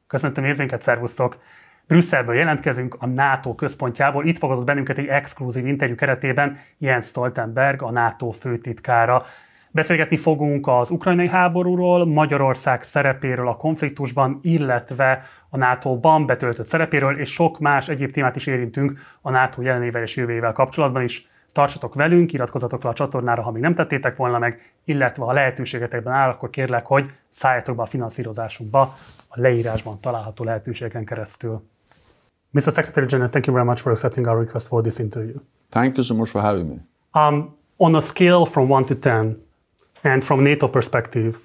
Köszöntöm érzénket, szervusztok! Brüsszelből jelentkezünk, a NATO központjából. Itt fogadott bennünket egy exkluzív interjú keretében Jens Stoltenberg, a NATO főtitkára. Beszélgetni fogunk az ukrajnai háborúról, Magyarország szerepéről a konfliktusban, illetve a NATO-ban betöltött szerepéről, és sok más egyéb témát is érintünk a NATO jelenével és jövőjével kapcsolatban is. Tartsatok velünk, iratkozzatok fel a csatornára, ha még nem tettétek volna meg, illetve ha lehetőségetekben áll, akkor kérlek, hogy szálljatok be a finanszírozásunkba a leírásban található lehetőségeken keresztül. Mr. Secretary General, thank you very much for accepting our request for this interview. Thank you so much for having me. On a scale from 1 to 10, and from NATO perspective,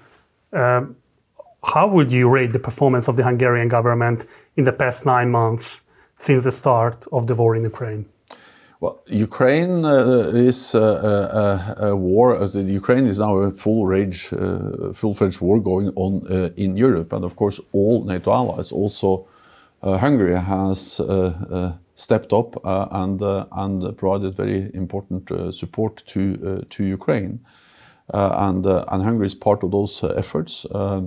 how would you rate the performance of the Hungarian government in the past 9 months since the start of the war in Ukraine? Well, Ukraine is a war. Ukraine is now a full-fledged war going on in Europe, and of course, all NATO allies, also Hungary, has stepped up and provided very important support to Ukraine, and Hungary is part of those efforts,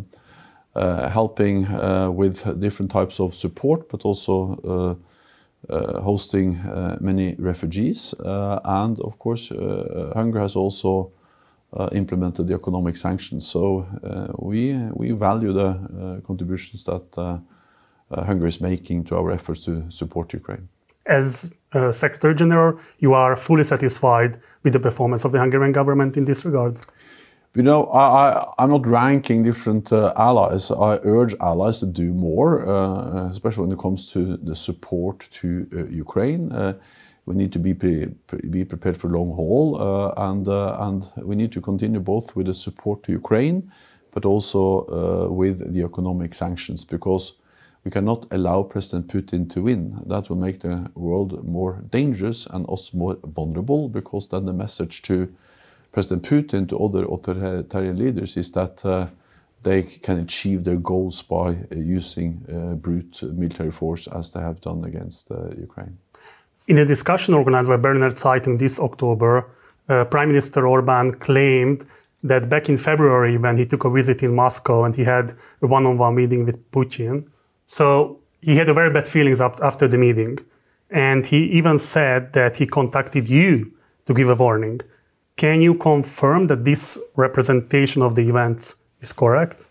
helping with different types of support, but also hosting many refugees, and of course Hungary has also implemented the economic sanctions. So we value the contributions that Hungary is making to our efforts to support Ukraine. As Secretary General, you are fully satisfied with the performance of the Hungarian government in these regards? You know, I'm not ranking different allies. I urge allies to do more, especially when it comes to the support to Ukraine. We need to be prepared for long haul, and we need to continue both with the support to Ukraine, but also with the economic sanctions, because we cannot allow President Putin to win. That will make the world more dangerous and us more vulnerable, because then the message to President Putin, to other authoritarian leaders, is that they can achieve their goals by using brute military force, as they have done against Ukraine. In a discussion organized by Berliner Zeitung this October, Prime Minister Orbán claimed that back in February, when he took a visit in Moscow and he had a one-on-one meeting with Putin, so he had a very bad feelings after the meeting. And he even said that he contacted you to give a warning. Can you confirm that this representation of the events is correct?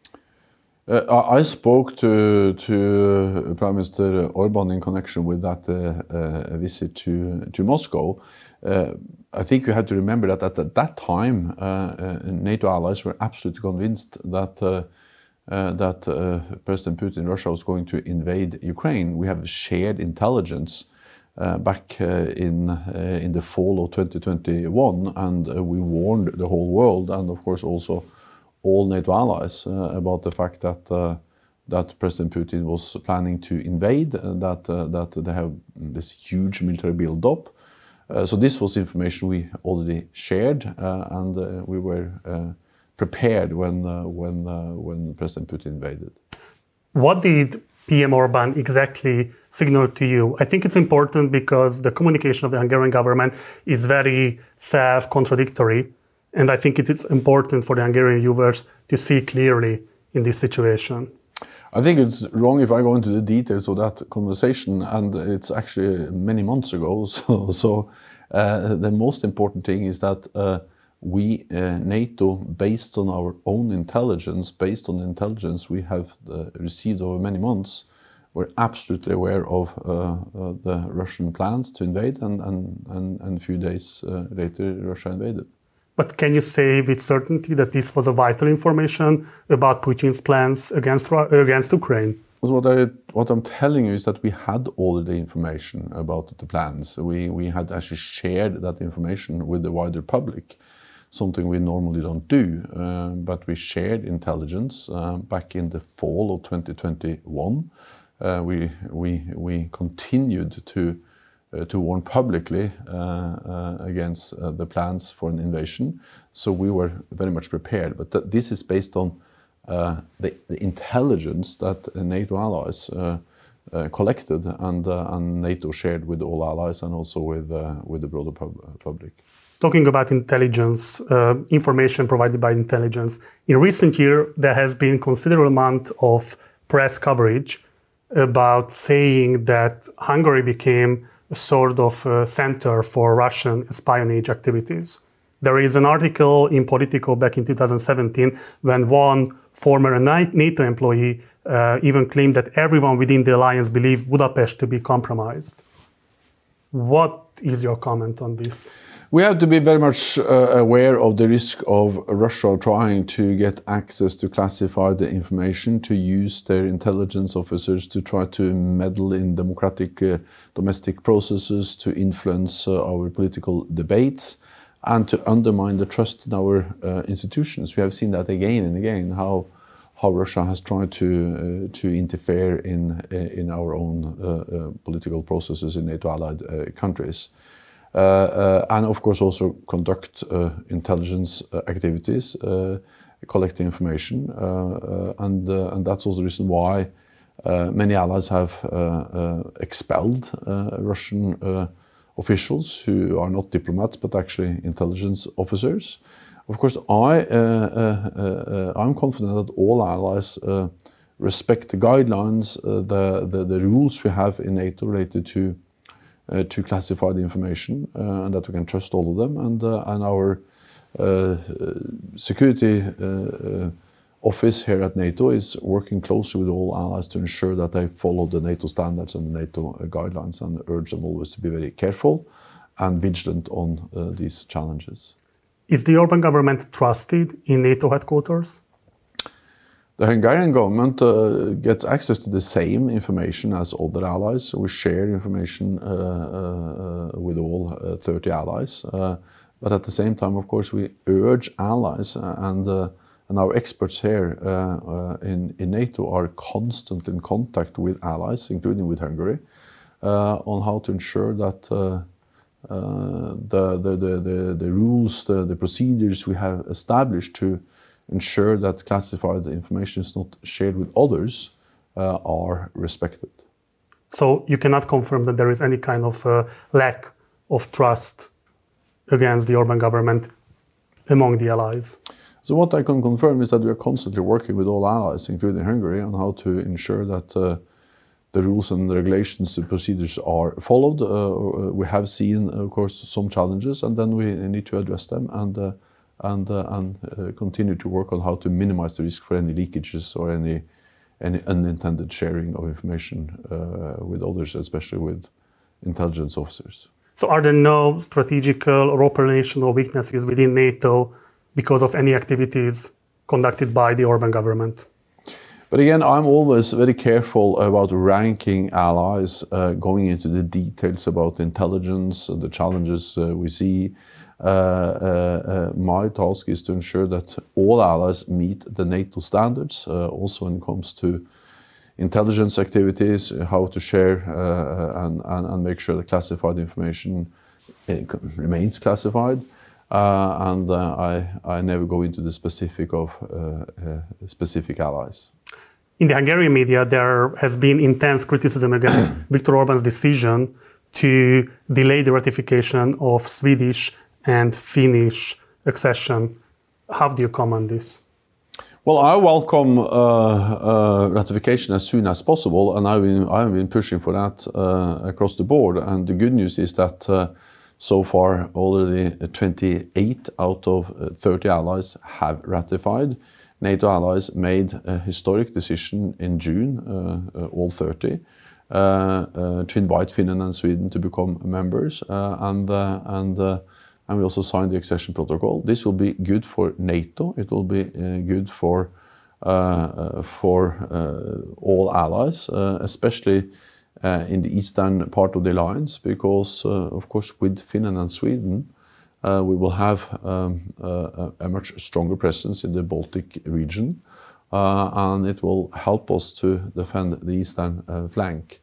I spoke to Prime Minister Orbán in connection with that visit to Moscow. I think you have to remember that at that time, NATO allies were absolutely convinced that President Putin, Russia, was going to invade Ukraine. We have shared intelligence back in the fall of 2021, and we warned the whole world, and of course also all NATO allies, about the fact that President Putin was planning to invade, that they have this huge military build-up. So this was information we already shared, and we were prepared when President Putin invaded. What did PM Orbán exactly signal to you? I think it's important because the communication of the Hungarian government is very self-contradictory, and I think it's important for the Hungarian viewers to see clearly in this situation. I think it's wrong if I go into the details of that conversation, and it's actually many months ago. So the most important thing is that we, NATO, based on our own intelligence, based on the intelligence we have received over many months, we're absolutely aware of the Russian plans to invade, and a few days later Russia invaded. But can you say with certainty that this was a vital information about Putin's plans against Ukraine? What I'm telling you is that we had all the information about the plans. We had actually shared that information with the wider public, something we normally don't do, but we shared intelligence back in the fall of 2021. We continued to warn publicly against the plans for an invasion, so we were very much prepared. But this is based on the intelligence that NATO allies collected and NATO shared with all allies and also with the broader public. Talking about intelligence, information provided by intelligence, in recent years there has been considerable amount of press coverage about saying that Hungary became a sort of center for Russian espionage activities. There is an article in Politico back in 2017 when one former NATO employee even claimed that everyone within the alliance believed Budapest to be compromised. What is your comment on this? We have to be very much aware of the risk of Russia trying to get access to classified information, to use their intelligence officers to try to meddle in democratic domestic processes, to influence our political debates, and to undermine the trust in our institutions. We have seen that again and again, how Russia has tried to interfere in our own political processes in NATO-allied countries. And of course also conduct intelligence activities, collect information, and that's also the reason why many allies have expelled Russian officials who are not diplomats but actually intelligence officers. Of course, I'm confident that all allies respect the guidelines, the rules we have in NATO related to classified information, and that we can trust all of them. And our security office here at NATO is working closely with all allies to ensure that they follow the NATO standards and the NATO guidelines, and urge them always to be very careful and vigilant on these challenges. Is the Orbán government trusted in NATO headquarters? The Hungarian government gets access to the same information as other allies. We share information with all 30 allies. But at the same time, of course, we urge allies and our experts here in NATO are constantly in contact with allies, including with Hungary, on how to ensure that the rules, the procedures we have established to ensure that classified information is not shared with others are respected. So you cannot confirm that there is any kind of lack of trust against the Orbán government among the allies? So what I can confirm is that we are constantly working with all allies, including Hungary, on how to ensure that the rules and the regulations and procedures are followed. We have seen, of course, some challenges, and then we need to address them and continue to work on how to minimize the risk for any leakages or any unintended sharing of information with others, especially with intelligence officers. So are there no strategical or operational weaknesses within NATO because of any activities conducted by the Orbán government? But again, I'm always very careful about ranking allies, going into the details about intelligence, the challenges we see. My task is to ensure that all allies meet the NATO standards, also when it comes to intelligence activities, how to share and make sure that classified information remains classified. And I never go into the specific of specific allies. In the Hungarian media, there has been intense criticism against Viktor Orbán's decision to delay the ratification of Swedish and Finnish accession. How do you comment this? Well, I welcome ratification as soon as possible, and I've been pushing for that across the board. And the good news is that so far already 28 out of 30 allies have ratified. NATO allies made a historic decision in June, all 30, to invite Finland and Sweden to become members, and we also signed the accession protocol. This will be good for NATO. It will be good for all allies, especially in the eastern part of the alliance, because of course with Finland and Sweden we will have a much stronger presence in the Baltic region, and it will help us to defend the eastern flank.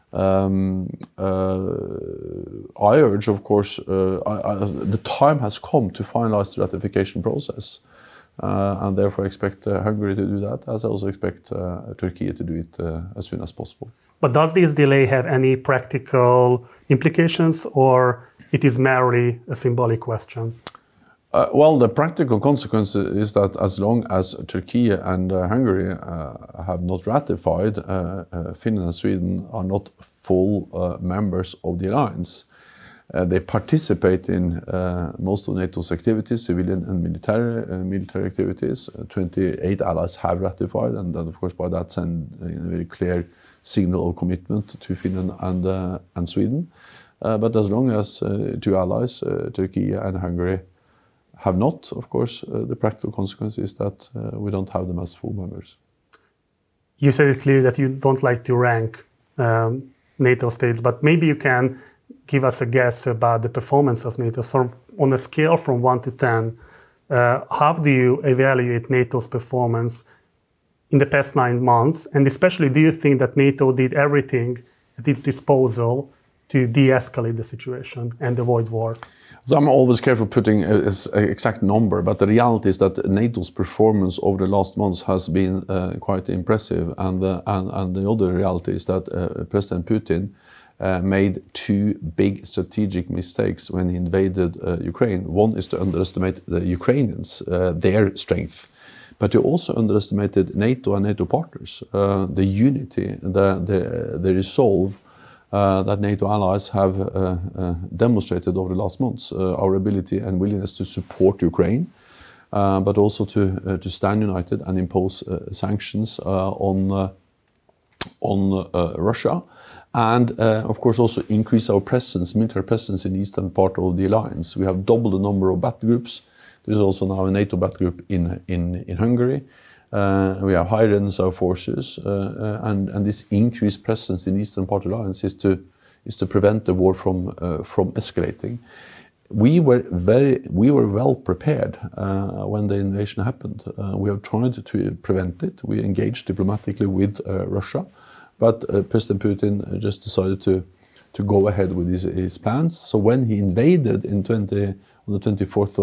I urge, of course, the time has come to finalize the ratification process, and therefore I expect Hungary to do that, as I also expect Turkey to do it as soon as possible. But does this delay have any practical implications, or it is merely a symbolic question? Well, the practical consequence is that as long as Turkey and Hungary have not ratified, Finland and Sweden are not full members of the alliance. They participate in most of NATO's activities, civilian and military activities. 28 allies have ratified, and that, of course, by that send a very clear signal of commitment to Finland and Sweden. But as long as two allies, Turkey and Hungary, have not, of course, the practical consequence is that we don't have them as full members. You said it clearly that you don't like to rank NATO states, but maybe you can give us a guess about the performance of NATO. So on a scale from 1 to 10, how do you evaluate NATO's performance in the past 9 months? And especially, do you think that NATO did everything at its disposal to de-escalate the situation and avoid war? So I'm always careful putting an exact number, but the reality is that NATO's performance over the last months has been quite impressive. And the other reality is that President Putin made 2 big strategic mistakes when he invaded Ukraine. One is to underestimate the Ukrainians, their strength. But he also underestimated NATO and NATO partners, the unity, the resolve that NATO allies have demonstrated over the last months, our ability and willingness to support Ukraine, but also to stand united and impose sanctions on Russia, and of course also increase our presence, military presence in the eastern part of the alliance. We have doubled the number of battle groups. There is also now a NATO battle group in Hungary. We have high readiness of forces, and this increased presence in the eastern part of the alliance is to prevent the war from escalating. We were well prepared when the invasion happened. We have tried to prevent it. We engaged diplomatically with Russia, but President Putin just decided to go ahead with his plans. So when he invaded on the 24th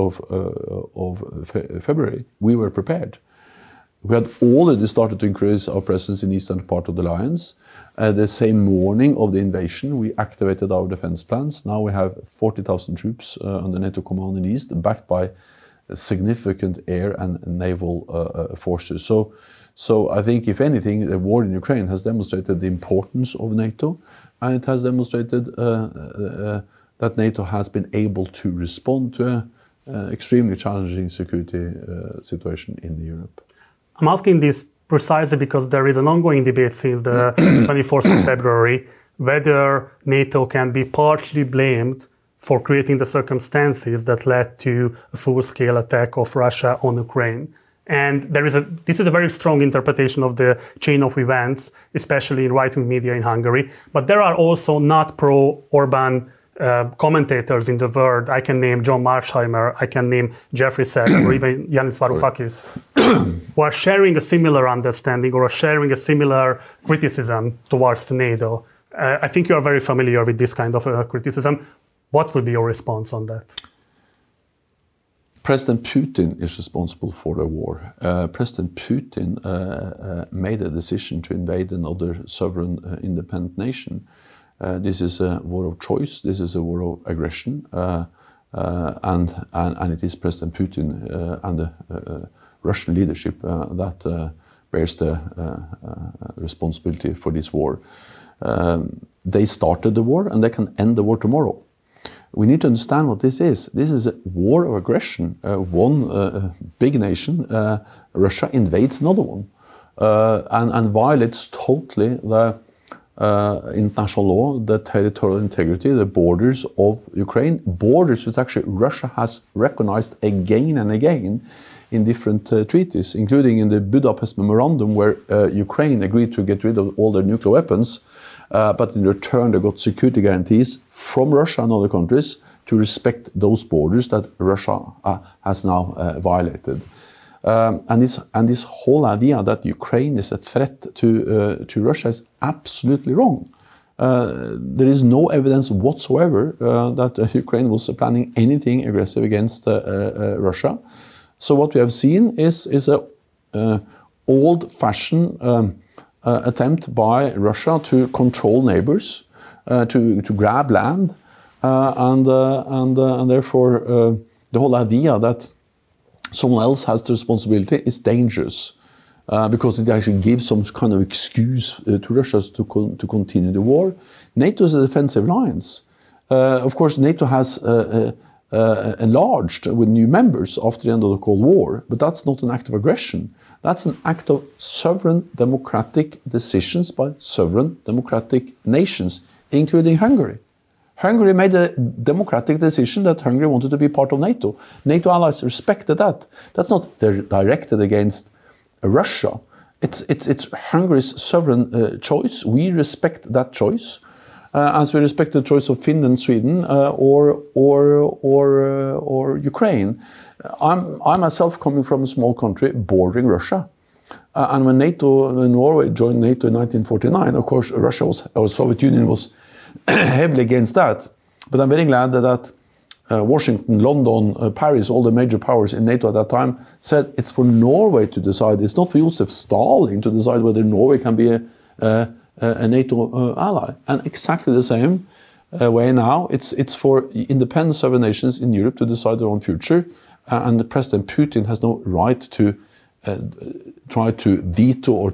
of February, we were prepared. We had already started to increase our presence in the eastern part of the alliance. The same morning of the invasion, we activated our defense plans. Now we have 40,000 troops under NATO command in the east, backed by significant air and naval forces. So I think, if anything, the war in Ukraine has demonstrated the importance of NATO, and it has demonstrated that NATO has been able to respond to an extremely challenging security situation in Europe. I'm asking this precisely because there is an ongoing debate since the 24th of February whether NATO can be partially blamed for creating the circumstances that led to a full-scale attack of Russia on Ukraine. And this is a very strong interpretation of the chain of events, especially in right-wing media in Hungary. But there are also not pro-Orban commentators in the world. I can name John Marsheimer, I can name Jeffrey Sachs, or even Yanis Varoufakis, who are sharing a similar understanding or are sharing a similar criticism towards NATO. I think you are very familiar with this kind of criticism. What will be your response on that? President Putin is responsible for the war. President Putin made a decision to invade another sovereign independent nation. This is a war of choice. This is a war of aggression, and it is President Putin and the Russian leadership that bears the responsibility for this war. They started the war, and they can end the war tomorrow. We need to understand what this is. This is a war of aggression. One big nation, Russia, invades another one and violates totally the international law, the territorial integrity, the borders of Ukraine, borders which actually Russia has recognized again and again in different treaties, including in the Budapest Memorandum, where Ukraine agreed to get rid of all their nuclear weapons, but in return they got security guarantees from Russia and other countries to respect those borders that Russia has now violated. And this whole idea that Ukraine is a threat to Russia is absolutely wrong. There is no evidence whatsoever that Ukraine was planning anything aggressive against Russia. So what we have seen is a old-fashioned attempt by Russia to control neighbors, to grab land, and therefore the whole idea that someone else has the responsibility is dangerous because it actually gives some kind of excuse to Russia to continue the war. NATO is a defensive alliance. Of course, NATO has enlarged with new members after the end of the Cold War, but that's not an act of aggression. That's an act of sovereign democratic decisions by sovereign democratic nations, including Hungary. Hungary made a democratic decision that Hungary wanted to be part of NATO. NATO allies respected that. That's not directed against Russia. It's Hungary's sovereign choice. We respect that choice, as we respect the choice of Finland, Sweden, or Ukraine. I myself coming from a small country bordering Russia. And when Norway joined NATO in 1949, of course, Soviet Union was heavily against that. But I'm very glad that Washington, London, Paris, all the major powers in NATO at that time said it's for Norway to decide. It's not for Josef Stalin to decide whether Norway can be a NATO ally. And exactly the same way now, it's for independent sovereign nations in Europe to decide their own future. And President Putin has no right to try to veto or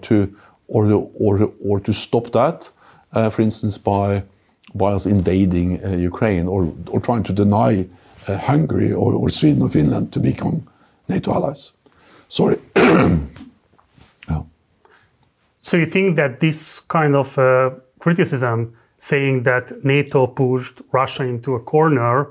to stop that. For instance, by us invading Ukraine or trying to deny Hungary or Sweden or Finland to become NATO allies. Sorry. Oh. So you think that this kind of criticism, saying that NATO pushed Russia into a corner,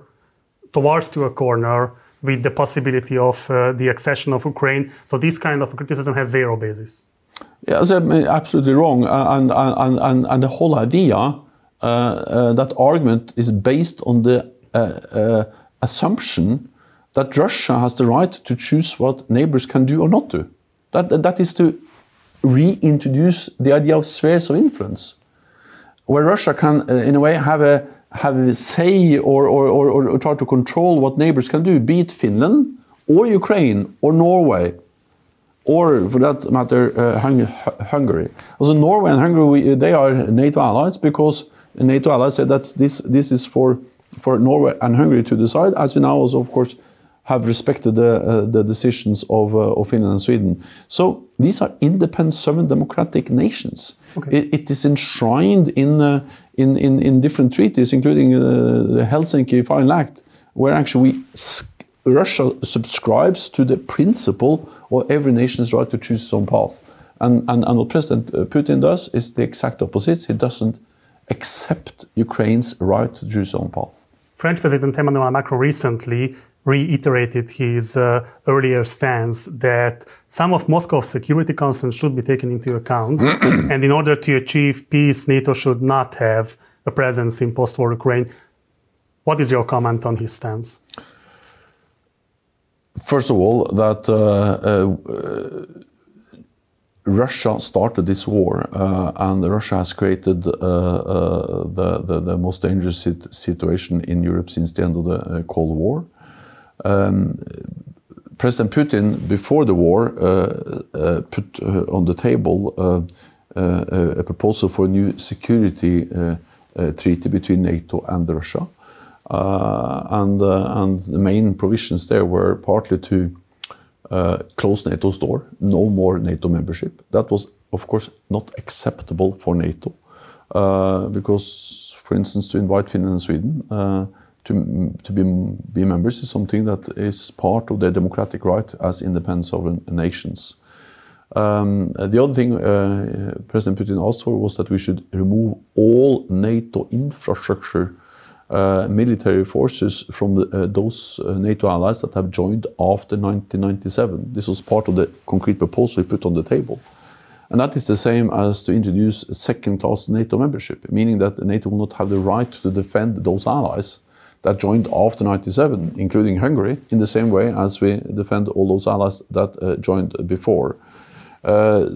with the possibility of the accession of Ukraine, so this kind of criticism has zero basis? Yeah, that's absolutely wrong. And the whole idea, that argument is based on the assumption that Russia has the right to choose what neighbors can do or not do. That is to reintroduce the idea of spheres of influence, where Russia can, in a way, have a say or try to control what neighbors can do, be it Finland or Ukraine or Norway, or for that matter, Hungary. Also, Norway and Hungary, they are NATO allies because NATO allies said that this is for Norway and Hungary to decide, as we now also, of course, have respected the decisions of Finland and Sweden. So these are independent, sovereign, democratic nations. Okay. It is enshrined in different treaties, including the Helsinki Final Act, where actually Russia subscribes to the principle of every nation's right to choose its own path. And what President Putin does is the exact opposite. He doesn't accept Ukraine's right to choose its own path. French President Emmanuel Macron recently reiterated his earlier stance that some of Moscow's security concerns should be taken into account, and in order to achieve peace, NATO should not have a presence in post-war Ukraine. What is your comment on his stance? First of all, that Russia started this war, and Russia has created the most dangerous situation in Europe since the end of the Cold War. President Putin, before the war, put on the table a proposal for a new security treaty between NATO and Russia. And the main provisions there were partly to close NATO's door, no more NATO membership. That was, of course, not acceptable for NATO, because, for instance, to invite Finland and Sweden to be members is something that is part of their democratic right as independent sovereign nations. The other thing President Putin asked for was that we should remove all NATO infrastructure military forces from those NATO allies that have joined after 1997. This was part of the concrete proposal he put on the table. And that is the same as to introduce a second-class NATO membership, meaning that NATO will not have the right to defend those allies that joined after 1997, including Hungary, in the same way as we defend all those allies that joined before. I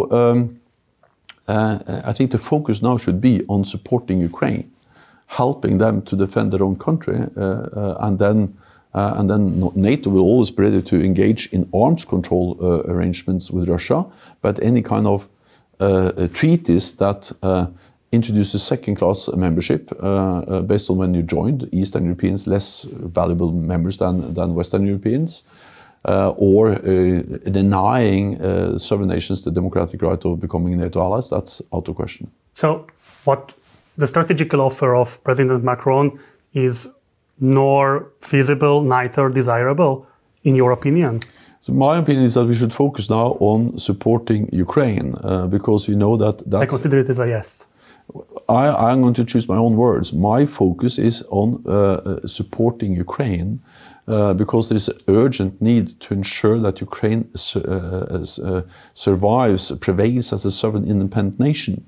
think the focus now should be on supporting Ukraine, helping them to defend their own country, and then NATO will always be ready to engage in arms control arrangements with Russia, but any kind of treaties that introduced a second-class membership based on when you joined. Eastern Europeans less valuable members than Western Europeans, or denying sovereign nations the democratic right of becoming NATO allies. That's out of question. So, what the strategical offer of President Macron is nor feasible, neither desirable, in your opinion? So my opinion is that we should focus now on supporting Ukraine, because we know that that's... I consider it as a yes. I'm going to choose my own words. My focus is on supporting Ukraine, because there is an urgent need to ensure that Ukraine survives, prevails as a sovereign independent nation.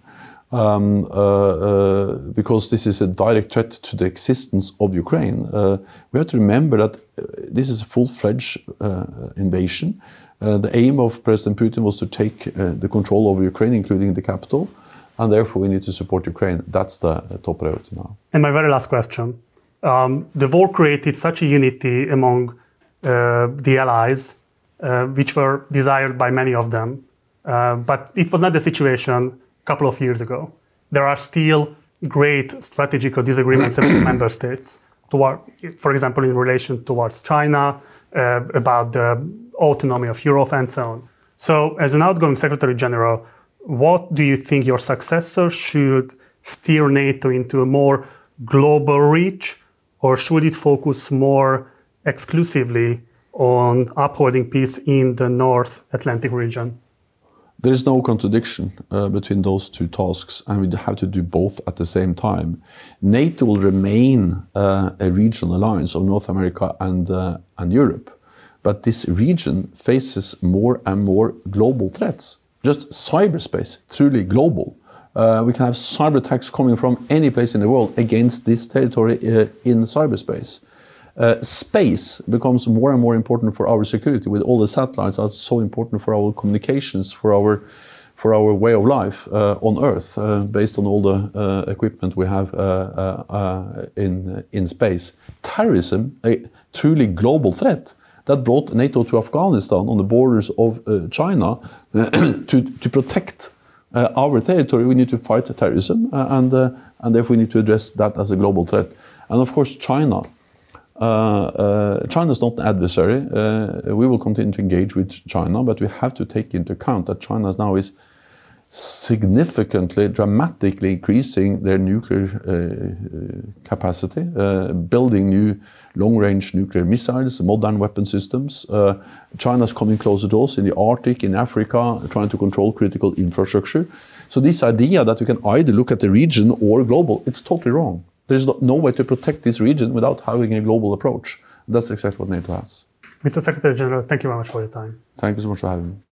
Because this is a direct threat to the existence of Ukraine. We have to remember that this is a full-fledged invasion. The aim of President Putin was to take the control over Ukraine, including the capital, and therefore we need to support Ukraine. That's the top priority now. And my very last question. The war created such a unity among the allies, which were desired by many of them, but it was not the situation couple of years ago. There are still great strategical disagreements among member states, for example, in relation towards China, about the autonomy of Europe and so on. So, as an outgoing Secretary General, what do you think your successor should steer NATO into a more global reach, or should it focus more exclusively on upholding peace in the North Atlantic region? There is no contradiction between those two tasks, and we have to do both at the same time. NATO will remain a regional alliance of North America and Europe, but this region faces more and more global threats. Just cyberspace, truly global. We can have cyber attacks coming from any place in the world against this territory in cyberspace. Space becomes more and more important for our security, with all the satellites are so important for our communications, for our way of life on Earth, based on all the equipment we have in space. Terrorism, a truly global threat, that brought NATO to Afghanistan on the borders of China to protect our territory. We need to fight terrorism, and therefore we need to address that as a global threat. And of course, China. China is not an adversary. We will continue to engage with China, but we have to take into account that China now is significantly, dramatically increasing their nuclear capacity, building new long-range nuclear missiles, modern weapon systems. China is coming closer to us in the Arctic, in Africa, trying to control critical infrastructure. So this idea that you can either look at the region or global, it's totally wrong. There is no way to protect this region without having a global approach. That's exactly what NATO has. Mr. Secretary General, thank you very much for your time. Thank you so much for having me.